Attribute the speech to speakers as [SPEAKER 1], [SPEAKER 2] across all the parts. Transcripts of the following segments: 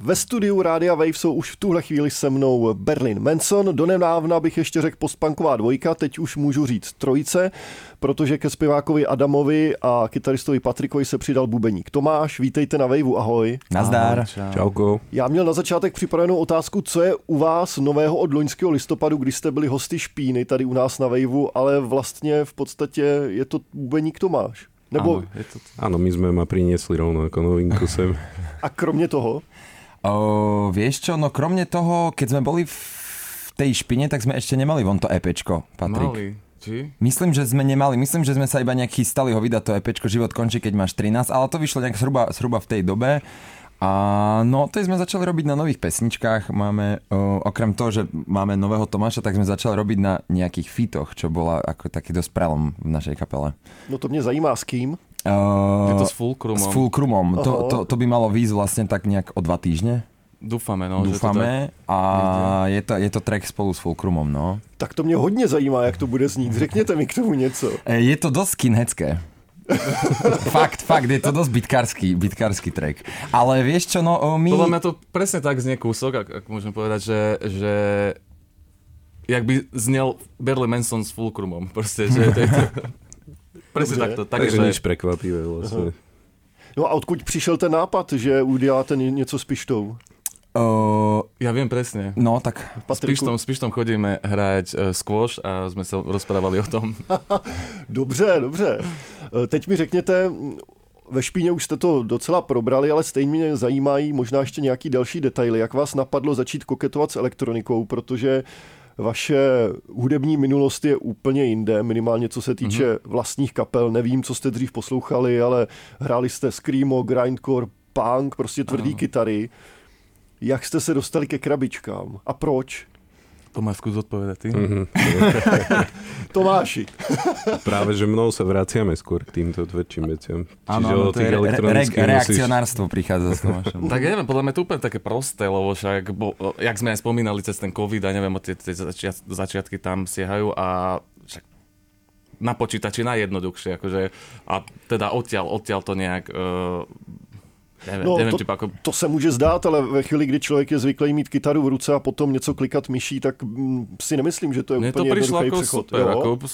[SPEAKER 1] Ve studiu Rádia Wave jsou už v tuhle chvíli se mnou Berlin Manson, donedávna bych ještě řekl postpunková dvojka, teď už můžu říct trojice, protože ke zpěvákovi Adamovi a kytaristovi Patrikovi se přidal bubeník Tomáš. Vítejte na Waveu, ahoj.
[SPEAKER 2] Nazdar.
[SPEAKER 3] Čauko.
[SPEAKER 1] Já měl na začátek připravenou otázku, co je u vás nového od loňského listopadu, kdy jste byli hosty Špíny tady u nás na Waveu, ale vlastně v podstatě je to bubeník Tomáš. Nebo...
[SPEAKER 3] Áno, my sme ma priniesli rovno ako novinku sem.
[SPEAKER 1] A kromě toho?
[SPEAKER 2] Vieš čo, no kromne toho, keď sme boli v tej Špine, tak sme ešte nemali von to EPčko, Patrik.
[SPEAKER 4] Mali, či?
[SPEAKER 2] Myslím, že sme nemali, myslím, že sme sa iba nejak chystali ho vydať to EPčko Život končí, keď máš 13, ale to vyšlo nejak zhruba v tej dobe. A no, to sme začali robiť na nových pesničkách. Máme, okrem toho, že máme nového Tomáša, tak sme začali robiť na nejakých fitoch, čo bola ako taký dosť prelom v našej kapele.
[SPEAKER 1] No to mě zajímá, s kým?
[SPEAKER 4] Je to s Fulcrumom.
[SPEAKER 2] S Fulcrumom. To by malo výjsť vlastne tak nejak o 2 týždne.
[SPEAKER 4] Dúfame, no.
[SPEAKER 2] Dúfame a je to track spolu s Fulcrumom, no.
[SPEAKER 1] Tak to mě hodně zajímá, jak to bude znít. Řekněte mi k tomu něco.
[SPEAKER 2] Je to dosť skinheadské. fakt, je to dosť bitkársky track. Ale vieš čo, no my...
[SPEAKER 4] Podľa mňa to presne tak znie kúsok, ak môžem povedať, že jak by znel Berlin Manson s Fulcrumom. Proste, že to je to... Presne takto.
[SPEAKER 3] Takže nič prekvapivé vlastne.
[SPEAKER 1] No a odkud přišel ten nápad, že uděláte něco s Pištou?
[SPEAKER 4] Ja viem presne.
[SPEAKER 2] No tak
[SPEAKER 4] s Pištom chodíme hrať squash a sme sa rozprávali o tom.
[SPEAKER 1] Dobře. Teď mi řekněte, ve Špíně už jste to docela probrali, ale stejně mě zajímají možná ještě nějaký další detaily. Jak vás napadlo začít koketovat s elektronikou, protože vaše hudební minulost je úplně jinde, minimálně co se týče vlastních kapel. Nevím, co jste dřív poslouchali, ale hráli jste screamo, grindcore, punk, prostě tvrdý kytary. Jak jste se dostali ke krabičkám? A proč?
[SPEAKER 4] To máš skús odpovedať ty.
[SPEAKER 1] Tomáši.
[SPEAKER 3] Práve, že mnou sa vraciame skôr k týmto tvrdším veciam.
[SPEAKER 2] Áno, to je reakcionárstvo prichádza s Tomášom.
[SPEAKER 4] Tak ja neviem, podľa mňa to úplne také prosté, lebo však, jak sme aj spomínali cez ten COVID a neviem, tie začiatky tam siehajú a však na počítači najjednoduchšie, akože, a teda odtiaľ to nejak... Nevím,
[SPEAKER 1] to se může zdát, ale ve chvíli, kdy člověk je zvyklý mít kytaru v ruce a potom něco klikat myší, tak si nemyslím, že to je úplně jednoduchý přechod.
[SPEAKER 4] Super,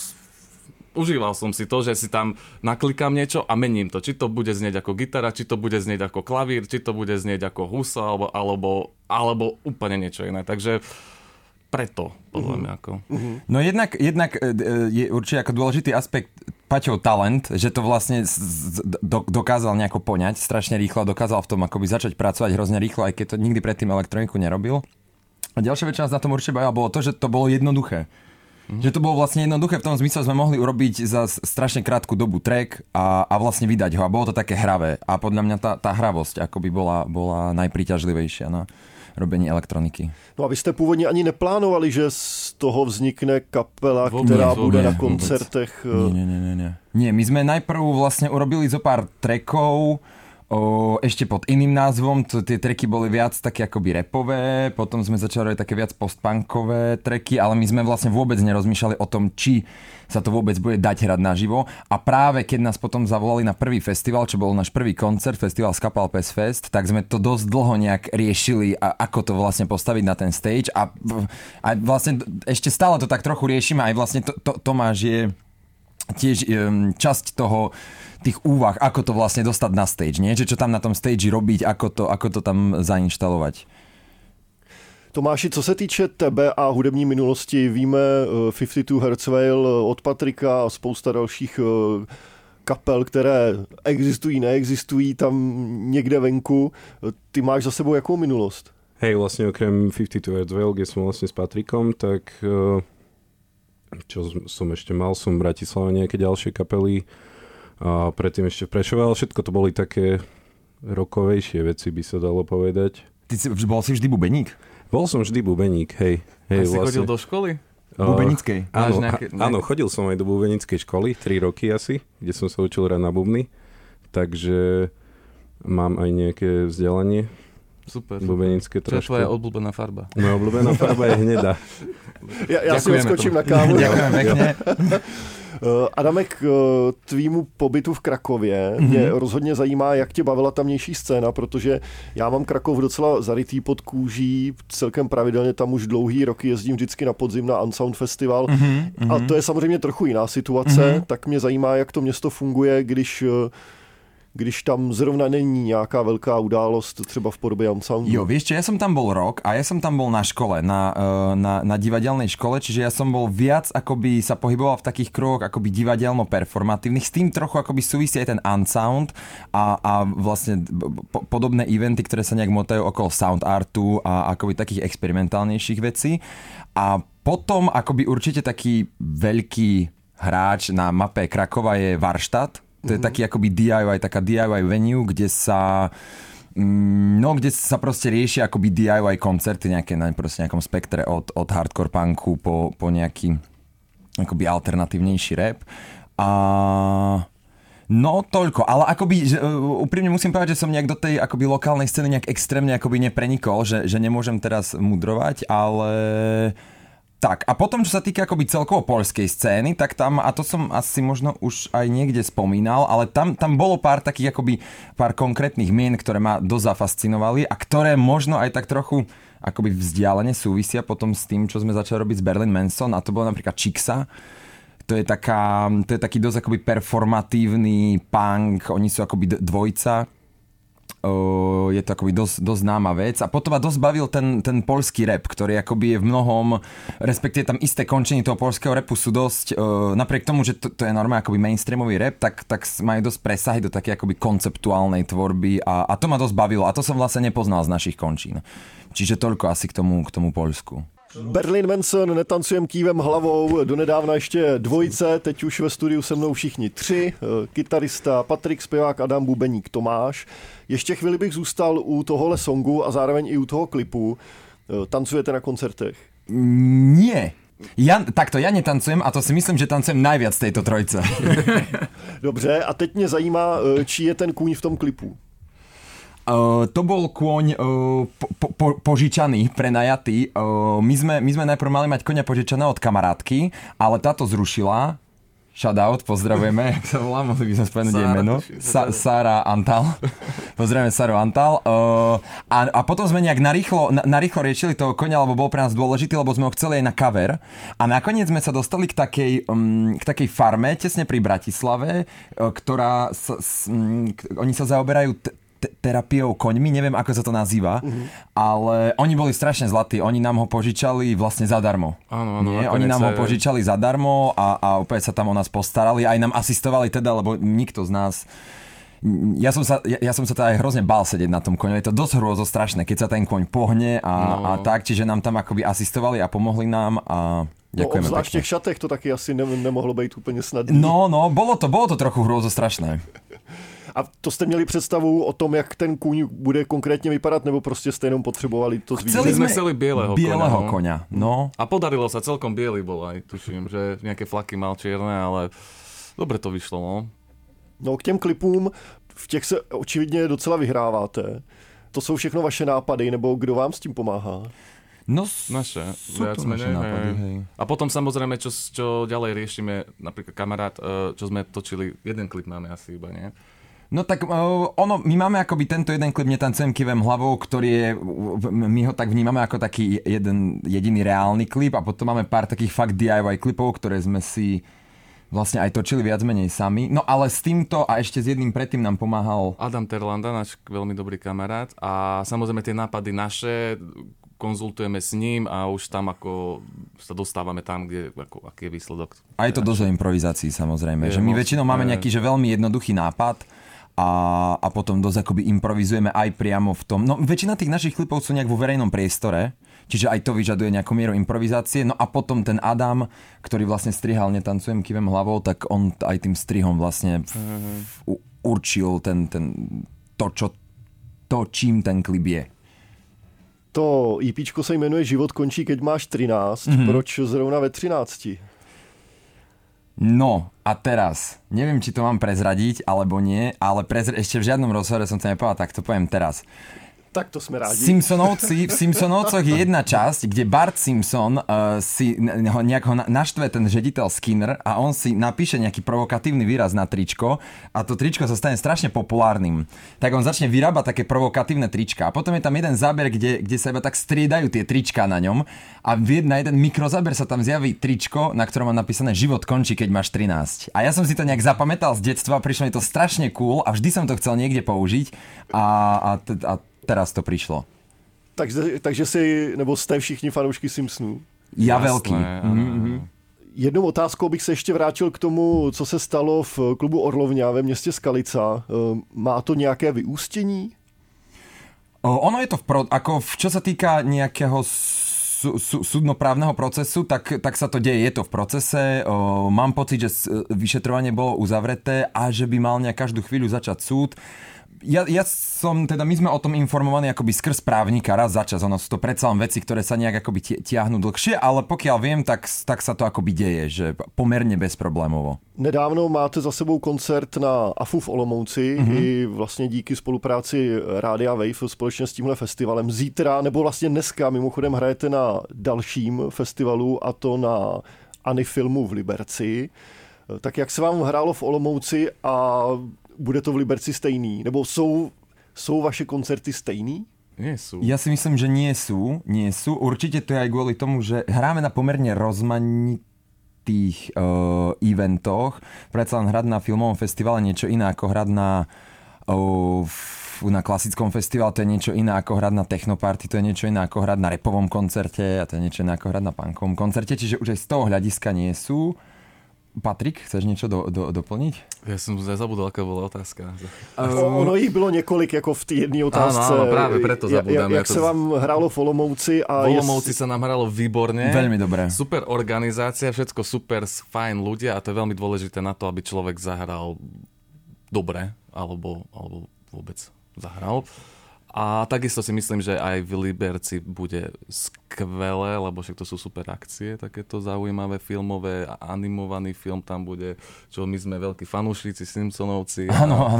[SPEAKER 4] užíval som si to, že si tam naklikám niečo a mením to. Či to bude znieť ako gitara, či to bude znieť ako klavír, či to bude znieť ako husa, alebo úplne niečo iné. Takže preto, podľa mňa.
[SPEAKER 2] No jednak je určite ako dôležitý aspekt Paťov talent, že to vlastne dokázal nejako poňať strašne rýchlo, dokázal v tom akoby začať pracovať hrozne rýchlo, aj keď to nikdy predtým elektroniku nerobil. A ďalšia vec, čo nás na tom určite bavila, bolo to, že to bolo jednoduché. Že to bolo vlastne jednoduché v tom zmysle, sme mohli urobiť za strašne krátku dobu track a vlastne vydať ho. A bolo to také hravé. A podľa mňa tá hravosť akoby bola najpríťažlivejšia na robení elektroniky.
[SPEAKER 1] No a vy jste původně ani neplánovali, že z toho vznikne kapela, která bude na koncertech?
[SPEAKER 2] Nie, my sme najprv vlastne urobili zo pár trackov, ešte pod iným názvom, tie tracky boli viac také akoby rapové, potom sme začali robiť také viac postpunkové tracky, ale my sme vlastne vôbec nerozmýšľali o tom, či sa to vôbec bude dať hrať naživo. A práve keď nás potom zavolali na prvý festival, čo bol náš prvý koncert, festival Skapal Pes Fest, tak sme to dosť dlho nejak riešili, ako to vlastne postaviť na ten stage a vlastne ešte stále to tak trochu riešime, aj vlastne Tomáš je tiež časť tých úvah, ako to vlastne dostať na stage, nie? Že čo tam na tom stage robiť, ako to tam zainštalovať.
[SPEAKER 1] Tomáši, co se týče tebe a hudební minulosti, víme 52 Hertz Veil od Patrika a spousta dalších kapel, které existují, neexistují tam někde venku. Ty máš za sebou jakou minulost?
[SPEAKER 3] Hej, vlastne okrem 52 Hertz Veil, kde som vlastne s Patrikom, tak čo som ešte mal, som v Bratislave nejaké ďalšie kapely a predtým ešte v Prešove, ale všetko to boli také rokovejšie veci, by sa dalo povedať.
[SPEAKER 2] Ty bol si vždy bubeník?
[SPEAKER 3] Bol som vždy bubeník, hej.
[SPEAKER 4] A si chodil do školy?
[SPEAKER 2] Bubenickej?
[SPEAKER 3] Áno, chodil som aj do bubenickej školy, 3 roky asi, kde som sa učil hrať na bubny, takže mám aj nejaké vzdelanie.
[SPEAKER 4] Super.
[SPEAKER 3] Bubenické trošku.
[SPEAKER 4] Čo je tvoja obľúbená farba?
[SPEAKER 3] Moja obľúbená farba je hnedá.
[SPEAKER 1] Ja si odskočím na kávu.
[SPEAKER 2] Ďakujem pekne.
[SPEAKER 1] Adame, k tvýmu pobytu v Krakově mě rozhodně zajímá, jak tě bavila tamnější scéna, protože já mám Krakov docela zarytý pod kůží, celkem pravidelně tam už dlouhý roky jezdím vždycky na podzim na Unsound Festival a to je samozřejmě trochu jiná situace, tak mě zajímá, jak to město funguje, když tam zrovna není nějaká velká událost, třeba v podobě Unsoundu.
[SPEAKER 2] Jo, vieš čo, ja som tam bol rok a ja som tam bol na škole, na divadelnej škole, čiže ja som bol viac akoby sa pohyboval v takých kruhoch akoby divadelno-performatívnych, s tým trochu akoby súvisí aj ten Unsound a vlastne podobné eventy, ktoré sa nejak motajú okolo sound artu a akoby takých experimentálnejších vecí. A potom akoby určite taký veľký hráč na mape Krakova je Varštát. To je taký akoby DIY, taká DIY venue, kde sa proste riešia akoby DIY koncerty nejaké na proste nejakom spektre od hardcore punku po nejaký akoby alternatívnejší rap. No toľko, ale akoby úprimne musím povedať, že som nejak do tej akoby lokálnej scény nejak extrémne akoby neprenikol, že nemôžem teraz mudrovať, ale tak, a potom, čo sa týka akoby celkovo poľskej scény, tak tam, a to som asi možno už aj niekde spomínal, ale tam bolo pár takých akoby pár konkrétnych mien, ktoré ma dosť zafascinovali a ktoré možno aj tak trochu akoby vzdialene súvisia potom s tým, čo sme začali robiť s Berlin Manson, a to bolo napríklad Chixa. To je taký dosť akoby performatívny punk, oni sú akoby dvojca. Je to akoby dosť známa vec a potom ma dosť bavil ten poľský rap, ktorý akoby je v mnohom, respektíve tam isté končenie toho poľského rapu sú dosť, napriek tomu, že to je normálne akoby mainstreamový rap, tak majú dosť presahy do také akoby konceptuálnej tvorby a to ma dosť bavilo a to som vlastne nepoznal z našich končín. Čiže toľko asi k tomu Poľsku.
[SPEAKER 1] Berlin Manson, Netancujem kývem hlavou, donedávna ještě dvojice, teď už ve studiu se mnou všichni tři, kytarista Patrik, zpěvák Adam, bubeník Tomáš. Ještě chvíli bych zůstal u tohohle songu a zároveň i u toho klipu. Tancujete na koncertech?
[SPEAKER 2] Nie. Ja netancujem a to si myslím, že tancujem najviac z tejto trojce.
[SPEAKER 1] Dobře, a teď mě zajímá, čí je ten kůň v tom klipu?
[SPEAKER 2] To bol kôň požičaný, prenajatý. My sme najprv mali mať koňa požičaného od kamarátky, ale táto zrušila. Shoutout, pozdravujeme, jak sa volá, mohli by sme spomenúť jej meno. Sára Antal. Pozdravujeme Sáru Antal. A potom sme nejak narýchlo riešili toho koňa, lebo bol pre nás dôležitý, lebo sme ho chceli aj na cover. A nakoniec sme sa dostali k takej farme, tesne pri Bratislave, ktorá oni sa zaoberajú terapiou koňmi, neviem ako sa to nazýva, ale oni boli strašne zlatí, oni nám ho požičali vlastne zadarmo.
[SPEAKER 4] Áno,
[SPEAKER 2] oni nám ho požičali zadarmo a úplne sa tam o nás postarali, aj nám asistovali teda, lebo nikto z nás. Ja som sa teda aj hrozne bál sedieť na tom koňu, je to dosť hrôzostrašné, keď sa ten koň pohne a tak, čiže nám tam akoby asistovali a pomohli nám a ďakujeme pekne.
[SPEAKER 1] Obzvlášť v těch šatech to taky asi nemohlo být úplně snadné.
[SPEAKER 2] No, bolo to trochu hrôzostrašné.
[SPEAKER 1] A to jste měli představu o tom, jak ten kůň bude konkrétně vypadat, nebo prostě jste jenom potřebovali to zvířat?
[SPEAKER 4] Chceli bieleho
[SPEAKER 2] koňa. No.
[SPEAKER 4] A podarilo sa, celkom biely bol aj, tuším, že nejaké flaky mal čierne, ale dobre to vyšlo, no.
[SPEAKER 1] No k těm klipům, v těch se očividně docela vyhráváte. To jsou všechno vaše nápady, nebo kdo vám s tím pomáhá?
[SPEAKER 4] No, naše, viac menej. Nápady, hej. A potom samozrejme, čo ďalej riešime, napríklad kamarát, čo sme točili, jeden klip máme asi iba, nie?
[SPEAKER 2] No tak my máme akoby tento jeden klip Netancujem kývem hlavou, ktorý je, my ho tak vnímame ako taký jeden jediný reálny klip a potom máme pár takých fakt DIY klipov, ktoré sme si vlastne aj točili viac menej sami. No ale s týmto a ešte s jedným predtým nám pomáhal
[SPEAKER 4] Adam Terlanda, náš veľmi dobrý kamarát a samozrejme tie nápady naše konzultujeme s ním a už tam ako sa dostávame tam, kde aký je výsledok.
[SPEAKER 2] A je to dosť o improvizácii samozrejme, že my väčšinou máme nejaký že veľmi jednoduchý nápad a potom dosť akoby improvizujeme aj priamo v tom. No väčšina tých našich klipov sú nejak vo verejnom priestore, čiže aj to vyžaduje nejakú mieru improvizácie. No a potom ten Adam, ktorý vlastne strihal Netancujem kývem hlavou, tak on aj tým strihom vlastne určil čím ten klip je.
[SPEAKER 1] To EPčko se jmenuje Život končí, keď máš 13. Proč zrovna ve 13?
[SPEAKER 2] No a teraz, neviem, či to mám prezradiť alebo nie, ale ešte v žiadnom rozhovore som to nepovedal, tak to poviem teraz.
[SPEAKER 1] Tak to sme rádi.
[SPEAKER 2] V Simpsonovcoch je jedna časť, kde Bart Simpson nejak ho naštve ten žediteľ Skinner a on si napíše nejaký provokatívny výraz na tričko a to tričko sa stane strašne populárnym. Tak on začne vyrábať také provokatívne trička a potom je tam jeden záber, kde sa iba tak striedajú tie trička na ňom a na jeden mikrozáber sa tam zjaví tričko, na ktorom má napísané život končí, keď máš 13. A ja som si to nejak zapamätal z detstva, prišlo mi to strašne cool a vždy som to chcel niekde použiť a teraz to prišlo.
[SPEAKER 1] Takže jste všichni fanoušky Simpsonů?
[SPEAKER 2] Ja veľký.
[SPEAKER 1] Jednou otázkou bych se ještě vrátil k tomu, co se stalo v klubu Orlovňa ve městě Skalica. Má to nějaké vyústění?
[SPEAKER 2] Ono je to čo sa týka nejakého súdnoprávneho procesu, tak sa to deje, je to v procese. Mám pocit, že vyšetrovanie bolo uzavreté a že by mal každú chvíľu začať súd. My sme o tom informovaní akoby skrz právnika raz za čas. Ono sú to predsa len veci, ktoré sa nejak akoby tiahnu dlhšie, ale pokiaľ viem, tak sa to akoby deje, že pomerne bezproblémovo.
[SPEAKER 1] Nedávno máte za sebou koncert na AFU v Olomouci i vlastně díky spolupráci Rádia Wave společně s tímhle festivalem. Zítra, nebo vlastně dneska mimochodem hrajete na dalším festivalu a to na Anifilmu v Liberci. Tak jak se vám hrálo v Olomouci a bude to v Liberci stejný? Nebo jsou vaše koncerty stejný?
[SPEAKER 4] Nie sú.
[SPEAKER 2] Ja si myslím, že nie sú. Určite to je aj kvôli tomu, že hráme na pomerne rozmanitých eventoch. Predsa len hrať na filmovom festivale niečo iné ako hrať na klasickom festivale, to je niečo iné ako hrať na technoparty, to je niečo iné ako hrať na rapovom koncerte a to je niečo iné ako hrať na punkovom koncerte, čiže už aj z toho hľadiska nie sú. Patrik, chceš niečo doplniť?
[SPEAKER 4] Ja som zabudol, aká bola otázka.
[SPEAKER 1] Ono jich bylo několik jako v té jedné otázce.
[SPEAKER 4] Áno, práve preto zabudám.
[SPEAKER 1] Jak se vám hrálo v Olomouci?
[SPEAKER 4] V Olomouci sa nám hralo výborne.
[SPEAKER 2] Veľmi dobre.
[SPEAKER 4] Super organizácia, všetko super, fajn ľudia a to je veľmi dôležité na to, aby človek zahral dobre, alebo vôbec zahral. A takisto si myslím, že aj v Liberci bude skvelé, lebo však to sú super akcie, takéto zaujímavé filmové, animovaný film tam bude, čo my sme veľkí fanúšici, Simpsonovci.
[SPEAKER 2] Áno.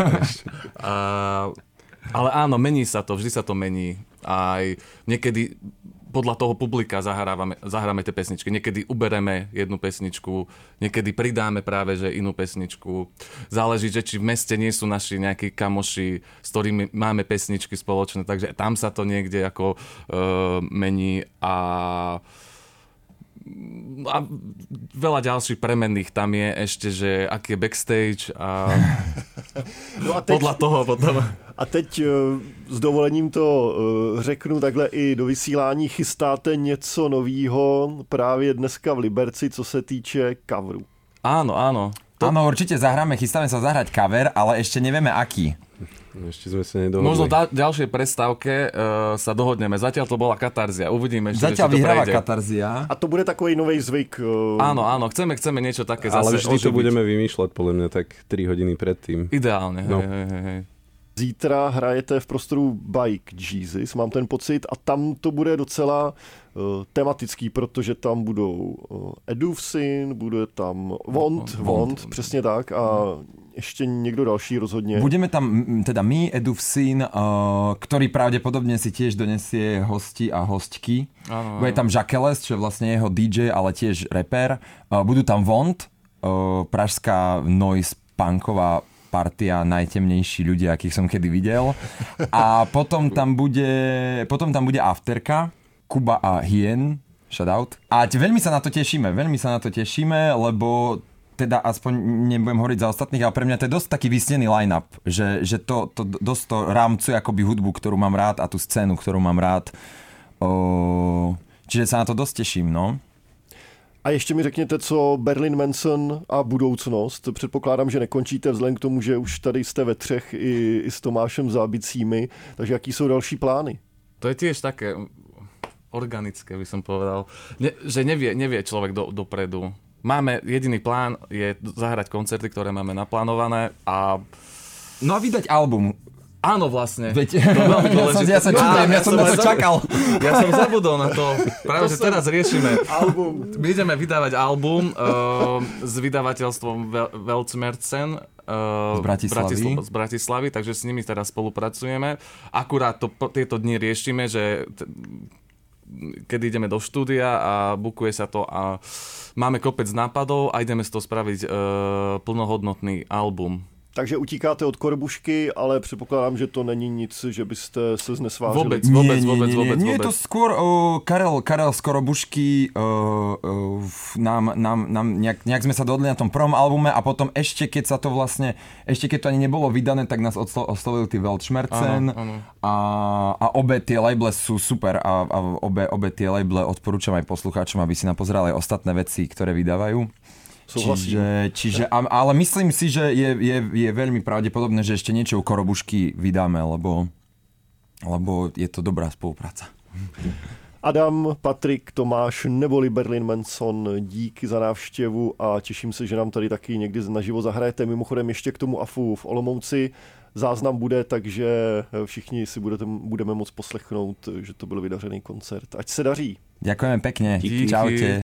[SPEAKER 4] Ale áno, mení sa to, vždy sa to mení. Aj niekedy podľa toho publika zahráme tie pesničky. Niekedy ubereme jednu pesničku, niekedy pridáme práve že inú pesničku. Záleží, že či v meste nie sú naši nejakí kamoši, s ktorými máme pesničky spoločné, takže tam sa to niekde ako mení a veľa ďalších premenných tam je ešte, že aký je backstage a, no a teď, podľa toho potom.
[SPEAKER 1] A teď s dovolením to řeknu takhle i do vysílání. Chystáte něco novýho právě dneska v Liberci, co se týče coveru?
[SPEAKER 4] Áno.
[SPEAKER 2] Áno, určite chystáme sa zahrať cover, ale ešte nevieme aký.
[SPEAKER 3] Ešte sme sa nedohodli.
[SPEAKER 4] Možno ďalšej prestávke sa dohodneme. Zatiaľ to bola Katarzia. Uvidíme ešte,
[SPEAKER 2] zatiaľ vyhráva Katarzia.
[SPEAKER 1] A to bude takový nový zvyk.
[SPEAKER 4] Áno, chceme niečo také zase
[SPEAKER 3] ale vždy
[SPEAKER 4] oživiť.
[SPEAKER 3] to budeme vymýšľať podľa mňa tak 3 hodiny predtým.
[SPEAKER 4] Ideálne,
[SPEAKER 3] no.
[SPEAKER 4] hej.
[SPEAKER 1] Zítra hrajete v prostoru Bike Jesus, mám ten pocit, a tam to bude docela tematický, protože tam budou Edufsin, bude tam Vont, přesně tak, a ešte niekto další rozhodne.
[SPEAKER 2] Budeme tam teda my, Edufsin, ktorý pravdepodobne si tiež donesie hosti a hostky.
[SPEAKER 4] Áno.
[SPEAKER 2] Bude tam Žakeles, čo je vlastne jeho DJ, ale tiež rapper. Budú tam Vont, pražská noise punková partia, najtemnejší ľudia, akých som kedy videl. A potom tam bude afterka, Kuba a Hien, shoutout. A veľmi sa na to tešíme, lebo teda aspoň nebudem hovoriť za ostatných, ale pre mňa to je dosť taký vysnený line-up, že to dosť to rámcuje akoby hudbu, ktorú mám rád a tú scénu, ktorú mám rád. Čiže sa na to dosť teším, no.
[SPEAKER 1] A ještě mi řekněte, co Berlin Manson a budoucnost. Předpokládám, že nekončíte vzhledem k tomu, že už tady jste ve třech i s Tomášem Zábicími, takže jaký jsou další plány?
[SPEAKER 4] To je tiež také organické, by som povedal, že nevie človek dopredu. Máme jediný plán, je zahrať koncerty, ktoré máme naplánované a...
[SPEAKER 2] No a vydať album.
[SPEAKER 4] Áno, vlastne.
[SPEAKER 2] Veď,
[SPEAKER 4] to je veľmi dôležité.
[SPEAKER 2] ja sa čudujem, ja som na to čakal.
[SPEAKER 4] Ja som zabudol na to. Práve, že teraz riešime.
[SPEAKER 1] Album.
[SPEAKER 4] My ideme vydávať album s vydavateľstvom Weltschmerzen z Bratislavy, takže s nimi teraz spolupracujeme. Akurát tieto dni riešime, že keď ideme do štúdia a bukuje sa to a máme kopec nápadov a ideme z toho spraviť plnohodnotný album.
[SPEAKER 1] Takže utíkáte od Korbušky, ale předpokládám, že to není nic, že byste se znesvářili.
[SPEAKER 4] Vôbec.
[SPEAKER 2] Nie, je to skôr Karel z Korobušky nám nejak sme sa dohodli na tom prvom albume a potom ešte keď to ani nebolo vydané, tak nás oslovili tí Weltschmerzen a obe tie labele sú super a obe tie labele odporúčam aj poslucháčom, aby si napozerali aj ostatné veci, ktoré vydávajú. Čiže, ale myslím si, že je veľmi pravdepodobné, že ešte niečo u Korobušky vydáme, lebo je to dobrá spolupráca.
[SPEAKER 1] Adam, Patrik, Tomáš neboli Berlin Manson, díky za návštěvu a těším se, že nám tady taky někdy naživo zahrajete. Mimochodem ještě k tomu AFU v Olomouci záznam bude, takže všichni si budeme moct poslechnout, že to byl vydařený koncert. Ať se daří.
[SPEAKER 2] Ďakujeme pekne.
[SPEAKER 4] Díky.
[SPEAKER 2] Čaute.